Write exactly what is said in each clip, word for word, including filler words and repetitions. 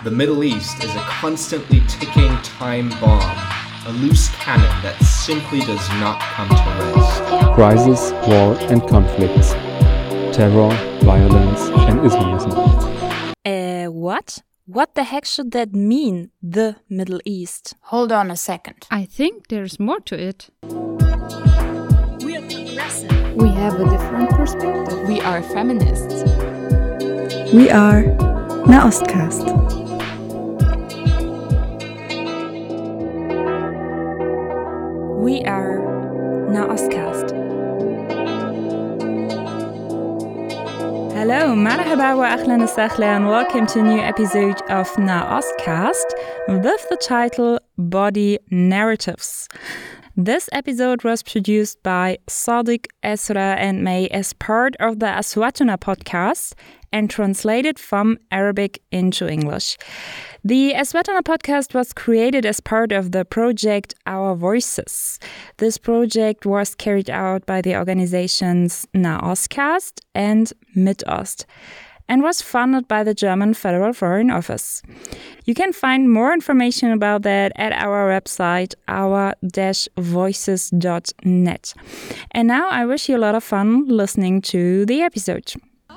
The Middle East is a constantly ticking time bomb, a loose cannon that simply does not come to rest. Crisis, war and conflicts. Terror, violence and Islamism. Uh, what? What the heck should that mean, the Middle East? Hold on a second. I think there's more to it. We are progressive. We have a different perspective. We are feminists. We are Nahostcast. We are Nahostcast. Hello, marhaba wa ahlan wa and welcome to a new episode of Nahostcast with the title Body Narratives. This episode was produced by Sadiq, Esra and May as part of the Aswatuna podcast and translated from Arabic into English. The Aswatuna podcast was created as part of the project Our Voices. This project was carried out by the organizations Nahostcast and Midost and was funded by the German Federal Foreign Office. You can find more information about that at our website, our dash voices dot net. And now I wish you a lot of fun listening to the episode.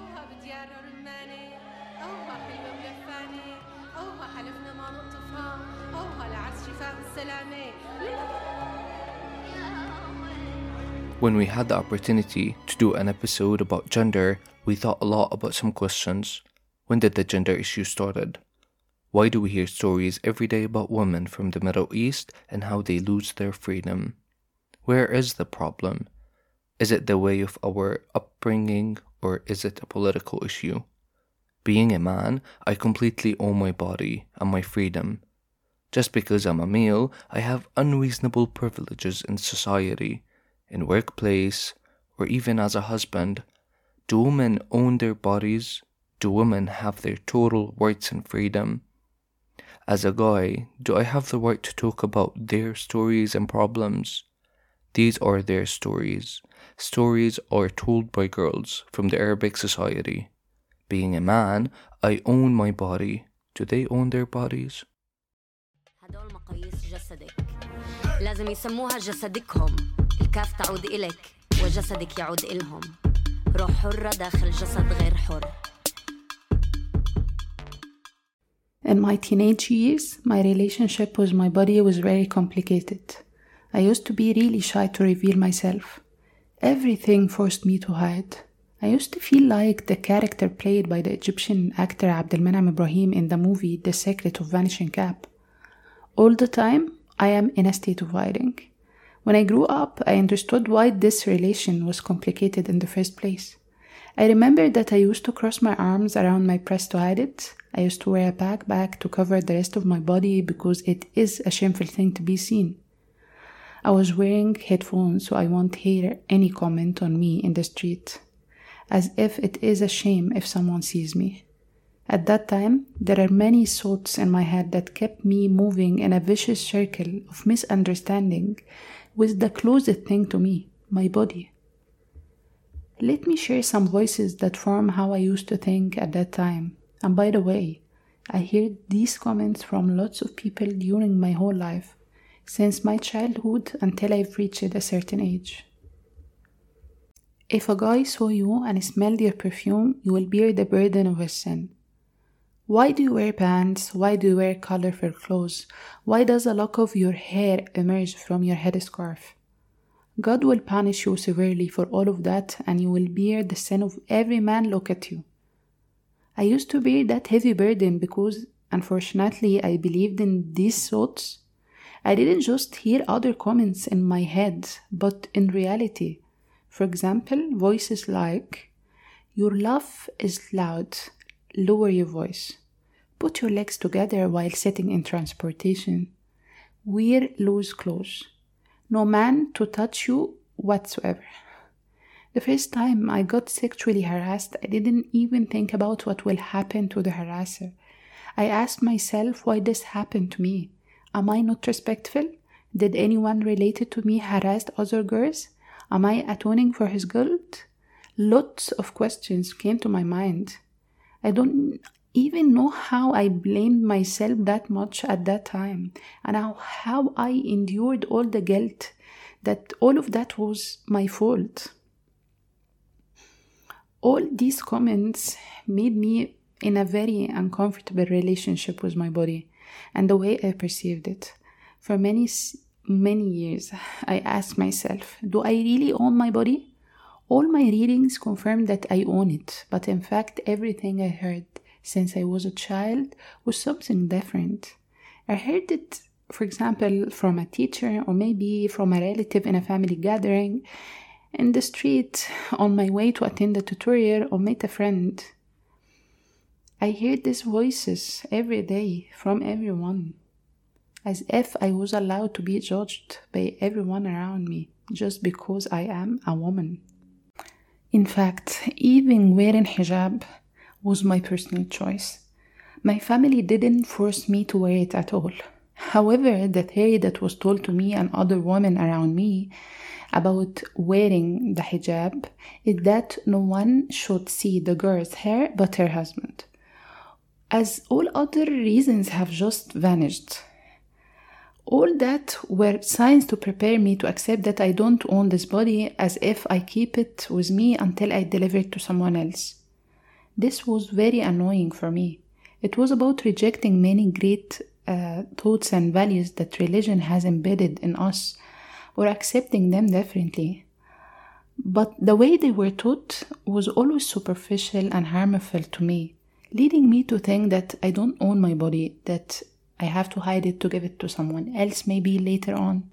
When we had the opportunity to do an episode about gender, we thought a lot about some questions. When did the gender issue started? Why do we hear stories every day about women from the Middle East and how they lose their freedom? Where is the problem? Is it the way of our upbringing or is it a political issue? Being a man, I completely own my body and my freedom. Just because I'm a male, I have unreasonable privileges in society, in workplace, or even as a husband. Do women own their bodies? Do women have their total rights and freedom? As a guy, do I have the right to talk about their stories and problems? These are their stories. Stories are told by girls from the Arabic society. Being a man, I own my body. Do they own their bodies? هدول مقاييس جسدك لازم يسموها جسدكهم الكاف تعود إلك وجسدك يعود إلهم روح حرة داخل جسد غير حر. In my teenage years, my relationship with my body was very complicated. I used to be really shy to reveal myself. Everything forced me to hide. I used to feel like the character played by the Egyptian actor Abdelmenam Ibrahim in the movie The Secret of Vanishing Cap. All the time, I am in a state of hiding. When I grew up, I understood why this relation was complicated in the first place. I remember that I used to cross my arms around my breast to hide it. I used to wear a backpack to cover the rest of my body because it is a shameful thing to be seen. I was wearing headphones so I won't hear any comment on me in the street, as if it is a shame if someone sees me. At that time, there are many thoughts in my head that kept me moving in a vicious circle of misunderstanding with the closest thing to me, my body. Let me share some voices that form how I used to think at that time. And by the way, I heard these comments from lots of people during my whole life, since my childhood until I've reached a certain age. If a guy saw you and smelled your perfume, you will bear the burden of his sin. Why do you wear pants? Why do you wear colorful clothes? Why does a lock of your hair emerge from your headscarf? God will punish you severely for all of that, and you will bear the sin of every man look at you. I used to bear that heavy burden because, unfortunately, I believed in these thoughts. I didn't just hear other comments in my head, but in reality. For example, voices like, "Your laugh is loud. Lower your voice. Put your legs together while sitting in transportation. Wear loose clothes. No man to touch you whatsoever." The first time I got sexually harassed, I didn't even think about what will happen to the harasser. I asked myself why this happened to me. Am I not respectful? Did anyone related to me harass other girls? Am I atoning for his guilt? Lots of questions came to my mind. I don't even know how I blamed myself that much at that time, and how, how I endured all the guilt, that all of that was my fault. All these comments made me in a very uncomfortable relationship with my body and the way I perceived it. For many, many years, I asked myself, do I really own my body? All my readings confirmed that I own it, but in fact, everything I heard since I was a child was something different. I heard it, for example, from a teacher or maybe from a relative in a family gathering, in the street, on my way to attend a tutorial or meet a friend. I heard these voices every day from everyone, as if I was allowed to be judged by everyone around me just because I am a woman. In fact, even wearing hijab was my personal choice. My family didn't force me to wear it at all. However, the theory that was told to me and other women around me about wearing the hijab is that no one should see the girl's hair but her husband, as all other reasons have just vanished. All that were signs to prepare me to accept that I don't own this body, as if I keep it with me until I deliver it to someone else. This was very annoying for me. It was about rejecting many great uh, thoughts and values that religion has embedded in us, or accepting them differently. But the way they were taught was always superficial and harmful to me, leading me to think that I don't own my body, that I have to hide it to give it to someone else maybe later on.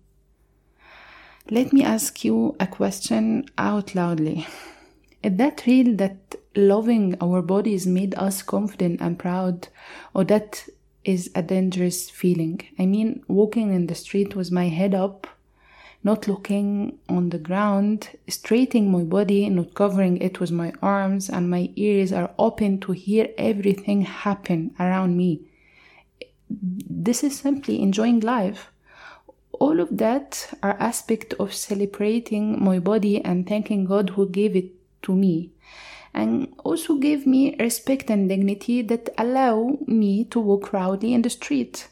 Let me ask you a question out loudly. Is that real, that loving our bodies made us confident and proud, or that is a dangerous feeling? I mean, walking in the street with my head up, not looking on the ground, straightening my body, not covering it with my arms, and my ears are open to hear everything happen around me. This is simply enjoying life. All of that are aspects of celebrating my body and thanking God who gave it to me, and also gave me respect and dignity that allow me to walk proudly in the street.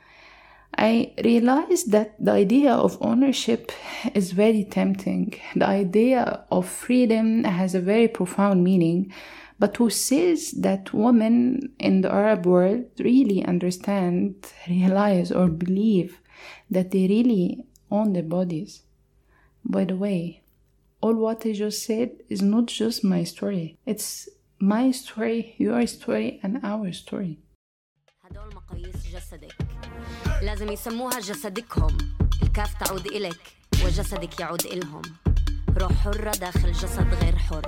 I realized that the idea of ownership is very tempting. The idea of freedom has a very profound meaning, but who says that women in the Arab world really understand, realize, or believe that they really own their bodies? By the way, all what I just said is not just my story. It's my story, your story, and our story. هدول مقاييس جسدك لازم يسموها جسدكهم. الكاف تعود إلك وجسدك يعود إلهم. روح حرة داخل جسد غير حر.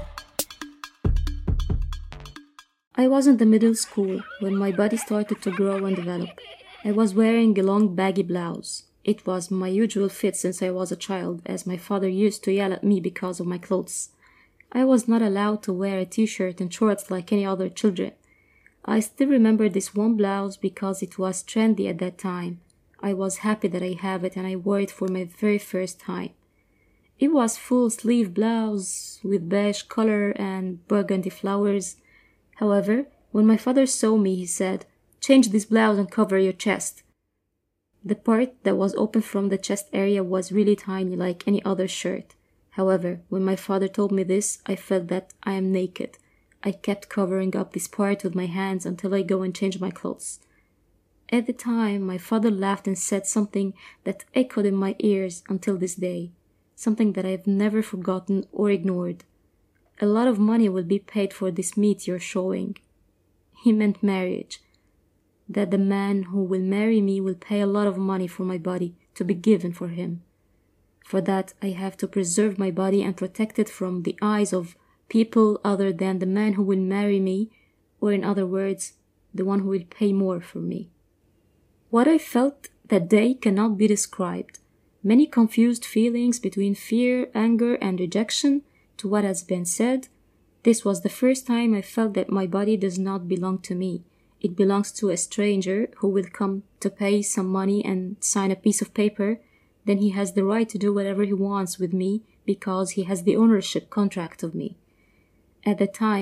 I was in the middle school when my body started to grow and develop. I was wearing a long baggy blouse. It was my usual fit since I was a child, as my father used to yell at me because of my clothes. I was not allowed to wear a t-shirt and shorts like any other children. I still remember this one blouse because it was trendy at that time. I was happy that I have it and I wore it for my very first time. It was full sleeve blouse with beige color and burgundy flowers. However, when my father saw me, he said, "Change this blouse and cover your chest." The part that was open from the chest area was really tiny, like any other shirt. However, when my father told me this, I felt that I am naked. I kept covering up this part with my hands until I go and change my clothes. At the time, my father laughed and said something that echoed in my ears until this day, something that I've never forgotten or ignored. A lot of money will be paid for this meat you're showing. He meant marriage. That the man who will marry me will pay a lot of money for my body to be given for him. For that, I have to preserve my body and protect it from the eyes of people other than the man who will marry me, or in other words, the one who will pay more for me. What I felt that day cannot be described. Many confused feelings between fear, anger, and rejection to what has been said. This was the first time I felt that my body does not belong to me. It belongs to a stranger who will come to pay some money and sign a piece of paper. Then he has the right to do whatever he wants with me because he has the ownership contract of me. At the time,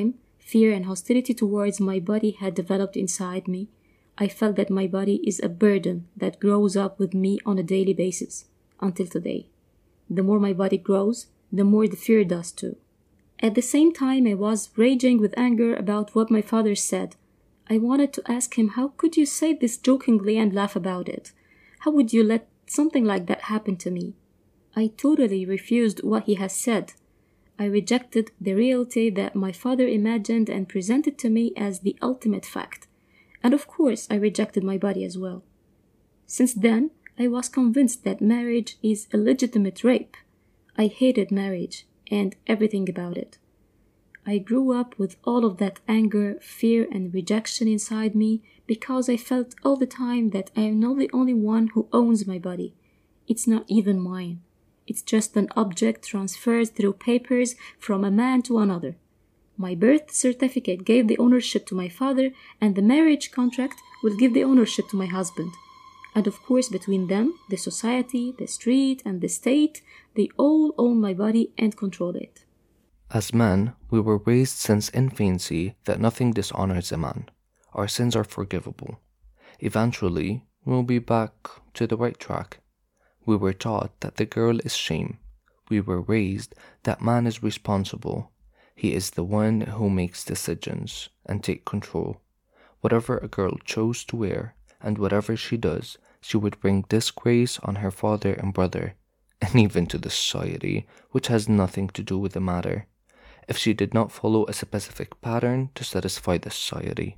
fear and hostility towards my body had developed inside me. I felt that my body is a burden that grows up with me on a daily basis, until today. The more my body grows, the more the fear does too. At the same time, I was raging with anger about what my father said. I wanted to ask him, how could you say this jokingly and laugh about it? How would you let something like that happen to me? I totally refused what he has said. I rejected the reality that my father imagined and presented to me as the ultimate fact. And of course, I rejected my body as well. Since then, I was convinced that marriage is a legitimate rape. I hated marriage and everything about it. I grew up with all of that anger, fear, and rejection inside me because I felt all the time that I am not the only one who owns my body. It's not even mine. It's just an object transferred through papers from a man to another. My birth certificate gave the ownership to my father, and the marriage contract will give the ownership to my husband. And of course, between them, the society, the street, and the state, they all own my body and control it. As men, we were raised since infancy that nothing dishonors a man. Our sins are forgivable. Eventually, we'll be back to the right track. We were taught that the girl is shame. We were raised that man is responsible. He is the one who makes decisions and take control. Whatever a girl chose to wear and whatever she does, she would bring disgrace on her father and brother, and even to the society, which has nothing to do with the matter, if she did not follow a specific pattern to satisfy the society.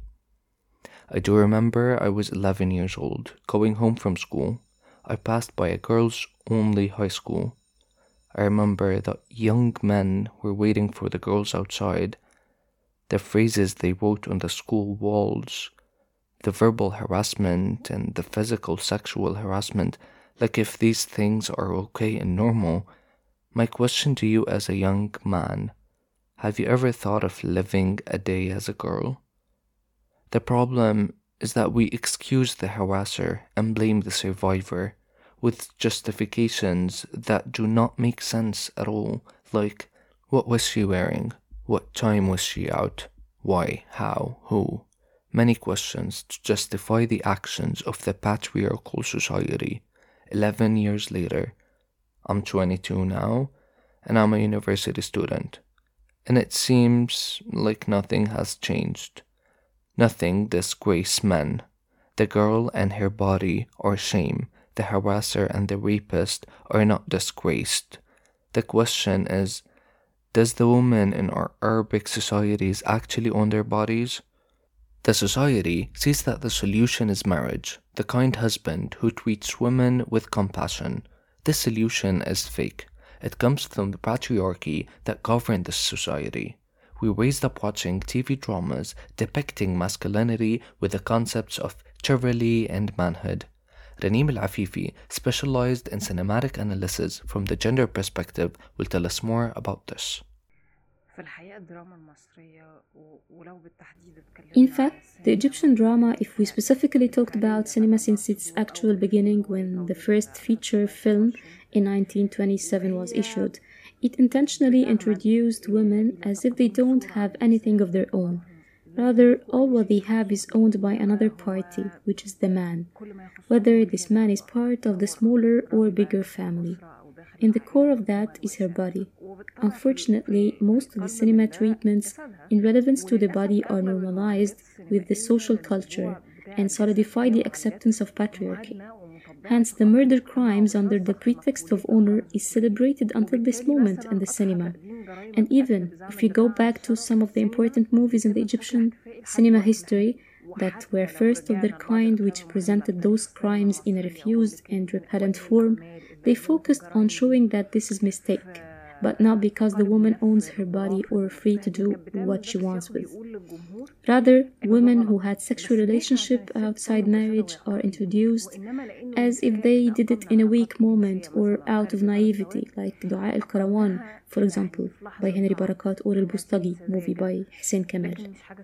I do remember I was eleven years old, going home from school. I passed by a girls-only high school. I remember that young men were waiting for the girls outside. The phrases they wrote on the school walls, the verbal harassment and the physical sexual harassment, like if these things are okay and normal. My question to you as a young man, have you ever thought of living a day as a girl? The problem is that we excuse the harasser and blame the survivor with justifications that do not make sense at all, like, what was she wearing? What time was she out? Why? How? Who? Many questions to justify the actions of the patriarchal society. Eleven years later, I'm twenty-two now, and I'm a university student. And it seems like nothing has changed. Nothing disgraces men. The girl and her body are shame. The harasser and the rapist are not disgraced. The question is, does the woman in our Arabic societies actually own their bodies? The society sees that the solution is marriage, the kind husband who treats women with compassion. This solution is fake. It comes from the patriarchy that governed this society. We raised up watching T V dramas depicting masculinity with the concepts of chivalry and manhood. Raneem Al-Afifi, specialized in cinematic analysis from the gender perspective, will tell us more about this. In fact, the Egyptian drama, if we specifically talked about cinema since its actual beginning when the first feature film in nineteen twenty-seven was issued, it intentionally introduced women as if they don't have anything of their own. Rather, all what they have is owned by another party, which is the man, whether this man is part of the smaller or bigger family. In the core of that is her body. Unfortunately, most of the cinema treatments in relevance to the body are normalized with the social culture and solidify the acceptance of patriarchy. Hence, the murder crimes under the pretext of honor is celebrated until this moment in the cinema. And even if you go back to some of the important movies in the Egyptian cinema history that were first of their kind, which presented those crimes in a refused and repellent form, they focused on showing that this is mistake, but not because the woman owns her body or free to do what she wants with. Rather, women who had sexual relationship outside marriage are introduced as if they did it in a weak moment or out of naivety, like Dua al-Karawan, for example, by Henry Barakat, or Al-Bustagi, movie by Hussein Kamal.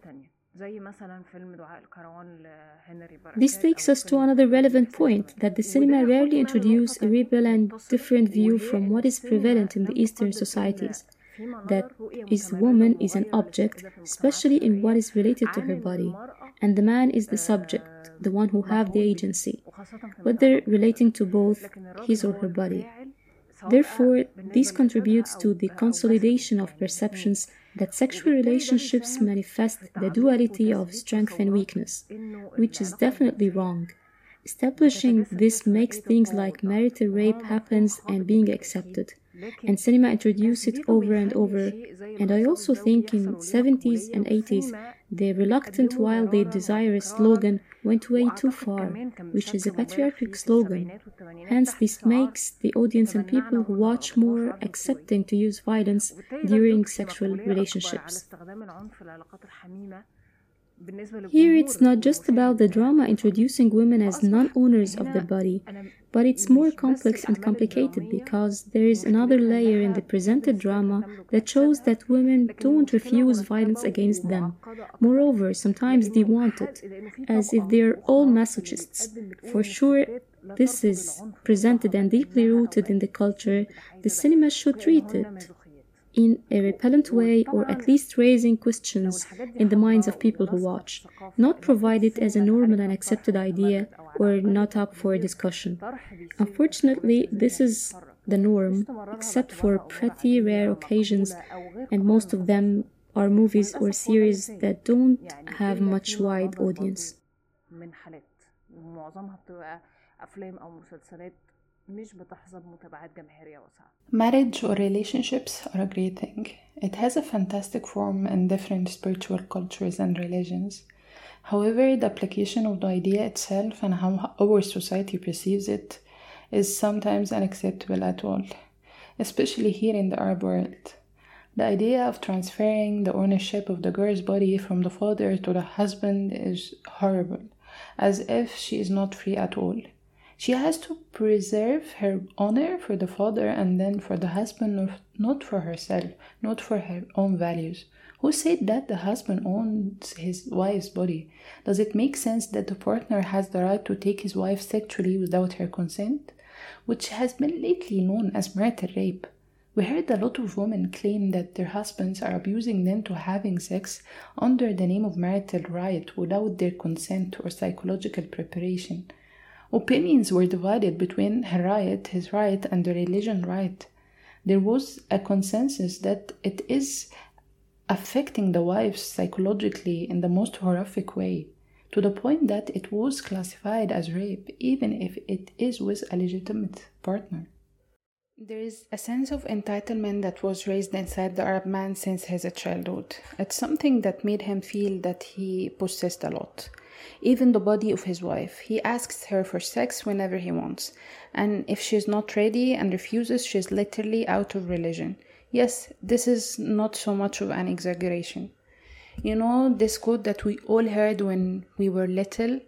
This takes us to another relevant point, that the cinema rarely introduces a rebel and different view from what is prevalent in the Eastern societies. that is woman is an object, especially in what is related to her body, and the man is the subject, the one who have the agency, whether relating to both his or her body. Therefore, this contributes to the consolidation of perceptions that sexual relationships manifest the duality of strength and weakness, which is definitely wrong. Establishing this makes things like marital rape happens and being accepted, and cinema introduced it over and over. And I also think in seventies and eighties, the reluctant while they desire slogan went way too far, which is a patriarchal slogan. Hence, this makes the audience and people who watch more accepting to use violence during sexual relationships. Here it's not just about the drama introducing women as non-owners of their body, but it's more complex and complicated because there is another layer in the presented drama that shows that women don't refuse violence against them. Moreover, sometimes they want it, as if they're all masochists. For sure, this is presented and deeply rooted in the culture. The cinema should treat it in a repellent way, or at least raising questions in the minds of people who watch, not provide it as a normal and accepted idea or not up for discussion. Unfortunately, this is the norm, except for pretty rare occasions, and most of them are movies or series that don't have much wide audience. Marriage or relationships are a great thing. It has a fantastic form in different spiritual cultures and religions. However, the application of the idea itself and how our society perceives it is sometimes unacceptable at all, especially here in the Arab world. The idea of transferring the ownership of the girl's body from the father to the husband is horrible, as if she is not free at all. She has to preserve her honor for the father and then for the husband, not for herself, not for her own values. Who said that the husband owns his wife's body? Does it make sense that the partner has the right to take his wife sexually without her consent? Which has been lately known as marital rape. We heard a lot of women claim that their husbands are abusing them to having sex under the name of marital right without their consent or psychological preparation. Opinions were divided between her right, his right, and the religion right. There was a consensus that it is affecting the wives psychologically in the most horrific way, to the point that it was classified as rape, even if it is with a legitimate partner. There is a sense of entitlement that was raised inside the Arab man since his childhood. It's something that made him feel that he possessed a lot. Even the body of his wife. He asks her for sex whenever he wants. And if she's not ready and refuses, she's literally out of religion. Yes, this is not so much of an exaggeration. You know, this quote that we all heard when we were little,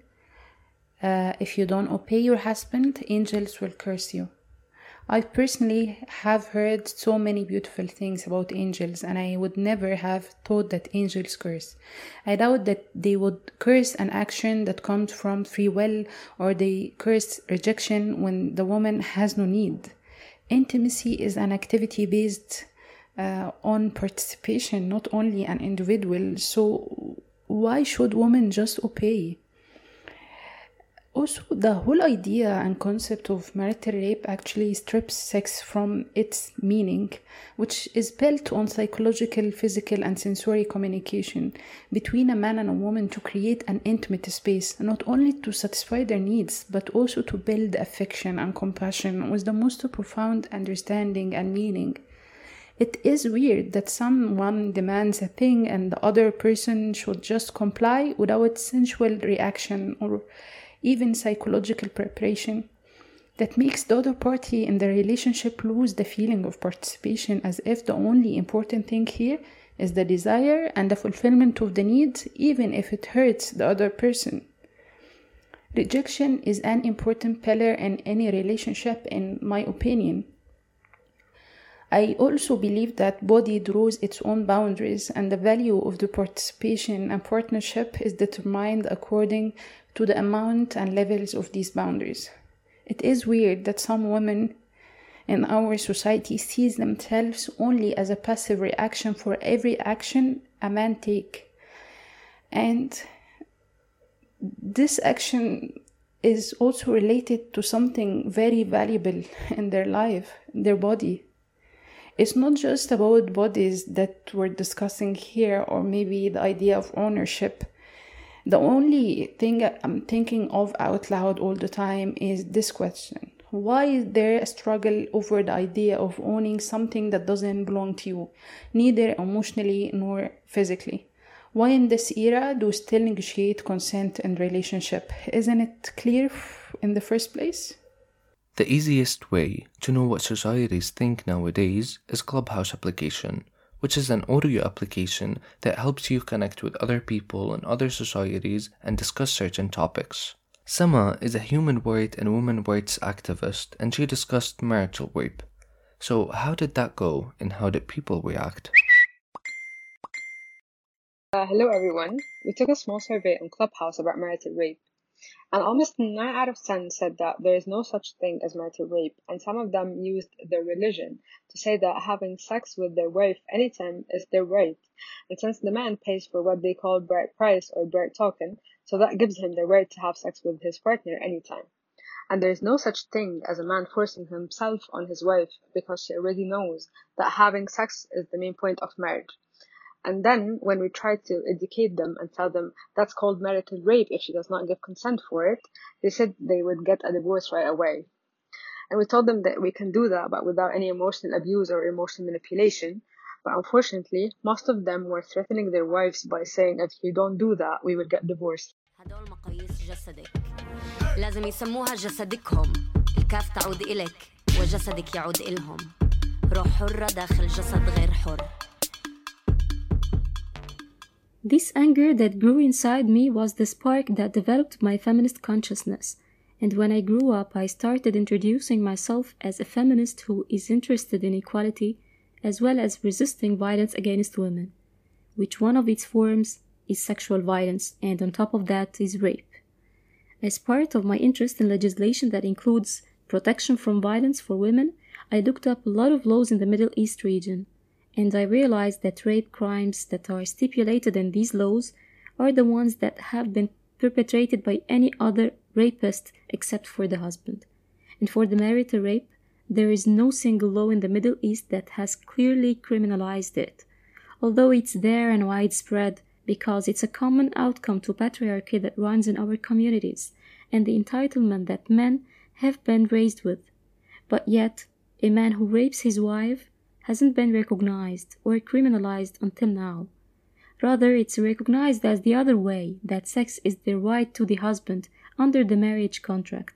uh, if you don't obey your husband, angels will curse you. I personally have heard so many beautiful things about angels, and I would never have thought that angels curse. I doubt that they would curse an action that comes from free will, or they curse rejection when the woman has no need. Intimacy is an activity based uh, on participation, not only an individual. So why should women just obey? Also, the whole idea and concept of marital rape actually strips sex from its meaning, which is built on psychological, physical, and sensory communication between a man and a woman to create an intimate space, not only to satisfy their needs, but also to build affection and compassion with the most profound understanding and meaning. It is weird that someone demands a thing and the other person should just comply without sensual reaction or even psychological preparation, that makes the other party in the relationship lose the feeling of participation, as if the only important thing here is the desire and the fulfillment of the needs, even if it hurts the other person. Rejection is an important pillar in any relationship, in my opinion. I also believe that body draws its own boundaries, and the value of the participation and partnership is determined according to the amount and levels of these boundaries. It is weird that some women and our society sees themselves only as a passive reaction for every action a man take. And this action is also related to something very valuable in their life, their body. It's not just about bodies that we're discussing here, or maybe the idea of ownership. The only thing I'm thinking of out loud all the time is this question. Why is there a struggle over the idea of owning something that doesn't belong to you, neither emotionally nor physically? Why in this era do we still negotiate consent in relationship? Isn't it clear in the first place? The easiest way to know what societies think nowadays is Clubhouse application, which is an audio application that helps you connect with other people in other societies and discuss certain topics. Sama is a human rights and women rights activist, and she discussed marital rape. So how did that go, and how did people react? Uh, hello everyone. We took a small survey on Clubhouse about marital rape, and almost nine out of ten said that there is no such thing as marital rape, and some of them used their religion to say that having sex with their wife anytime is their right, and since the man pays for what they call bride price or bride token, so that gives him the right to have sex with his partner anytime. And there is no such thing as a man forcing himself on his wife because she already knows that having sex is the main point of marriage. And then when we try to educate them and tell them that's called marital rape if she does not give consent for it, they said they would get a divorce right away. And we told them that we can do that, but without any emotional abuse or emotional manipulation. But unfortunately, most of them were threatening their wives by saying if you don't do that, we will get divorced. هدول مقاييس جسدك لازم يسموها جسدكهم الكاف تعود إلك وجسدك يعود إلهم روح حرة داخل جسد غير حر. This anger that grew inside me was the spark that developed my feminist consciousness, and when I grew up I started introducing myself as a feminist who is interested in equality as well as resisting violence against women, which one of its forms is sexual violence, and on top of that is rape. As part of my interest in legislation that includes protection from violence for women, I looked up a lot of laws in the Middle East region, and I realized that rape crimes that are stipulated in these laws are the ones that have been perpetrated by any other rapist except for the husband. And for the marital rape, there is no single law in the Middle East that has clearly criminalized it, although it's there and widespread because it's a common outcome to patriarchy that runs in our communities and the entitlement that men have been raised with. But yet, a man who rapes his wife hasn't been recognized or criminalized until now. Rather, it's recognized as the other way, that sex is the right to the husband under the marriage contract,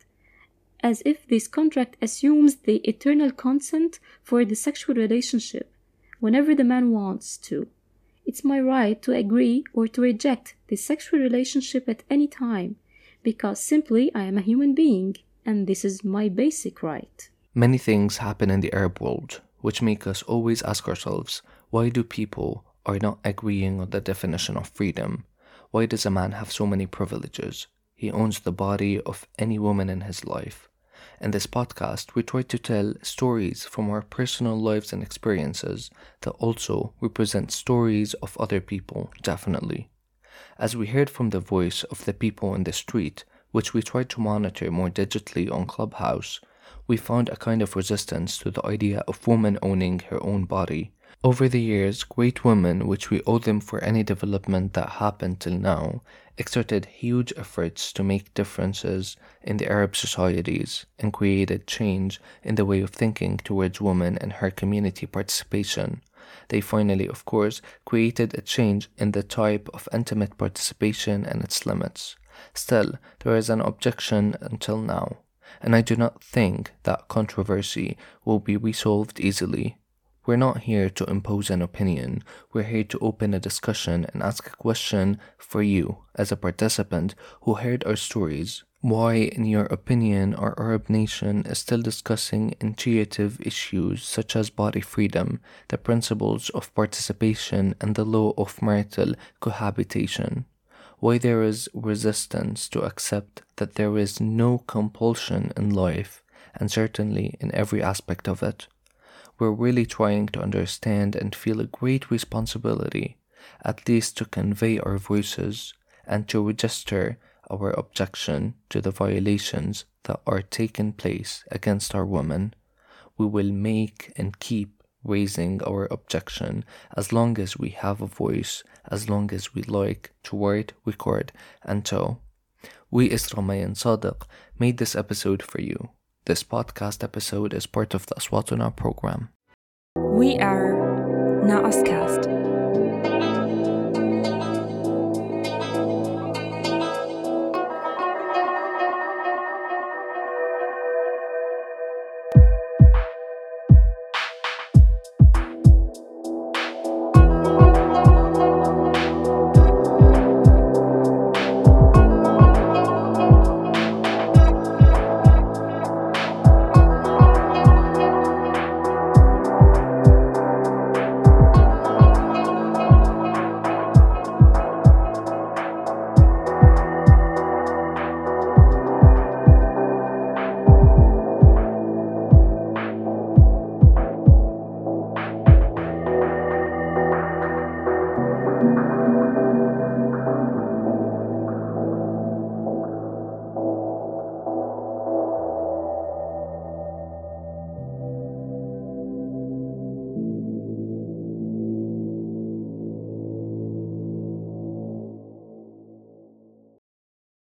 as if this contract assumes the eternal consent for the sexual relationship whenever the man wants to. It's my right to agree or to reject the sexual relationship at any time, because simply I am a human being, and this is my basic right. Many things happen in the Arab world, which make us always ask ourselves, why do people are not agreeing on the definition of freedom? Why does a man have so many privileges? He owns the body of any woman in his life. In this podcast, we try to tell stories from our personal lives and experiences that also represent stories of other people, definitely. As we heard from the voice of the people in the street, which we tried to monitor more digitally on Clubhouse, we found a kind of resistance to the idea of woman owning her own body. Over the years, great women, which we owe them for any development that happened till now, exerted huge efforts to make differences in the Arab societies and created change in the way of thinking towards women and her community participation. They finally, of course, created a change in the type of intimate participation and its limits. Still, there is an objection until now, and I do not think that controversy will be resolved easily. We're not here to impose an opinion, we're here to open a discussion and ask a question for you, as a participant who heard our stories. Why, in your opinion, our Arab nation is still discussing intuitive issues such as body freedom, the principles of participation, and the law of marital cohabitation? Why there is resistance to accept that there is no compulsion in life, and certainly in every aspect of it. We're really trying to understand and feel a great responsibility, at least to convey our voices and to register our objection to the violations that are taking place against our women. We will make and keep raising our objection as long as we have a voice, as long as we like to write, record, and tell. We, Isra, May, and Sadiq, made this episode for you. This podcast episode is part of the Aswatuna program. We are Na Oscast.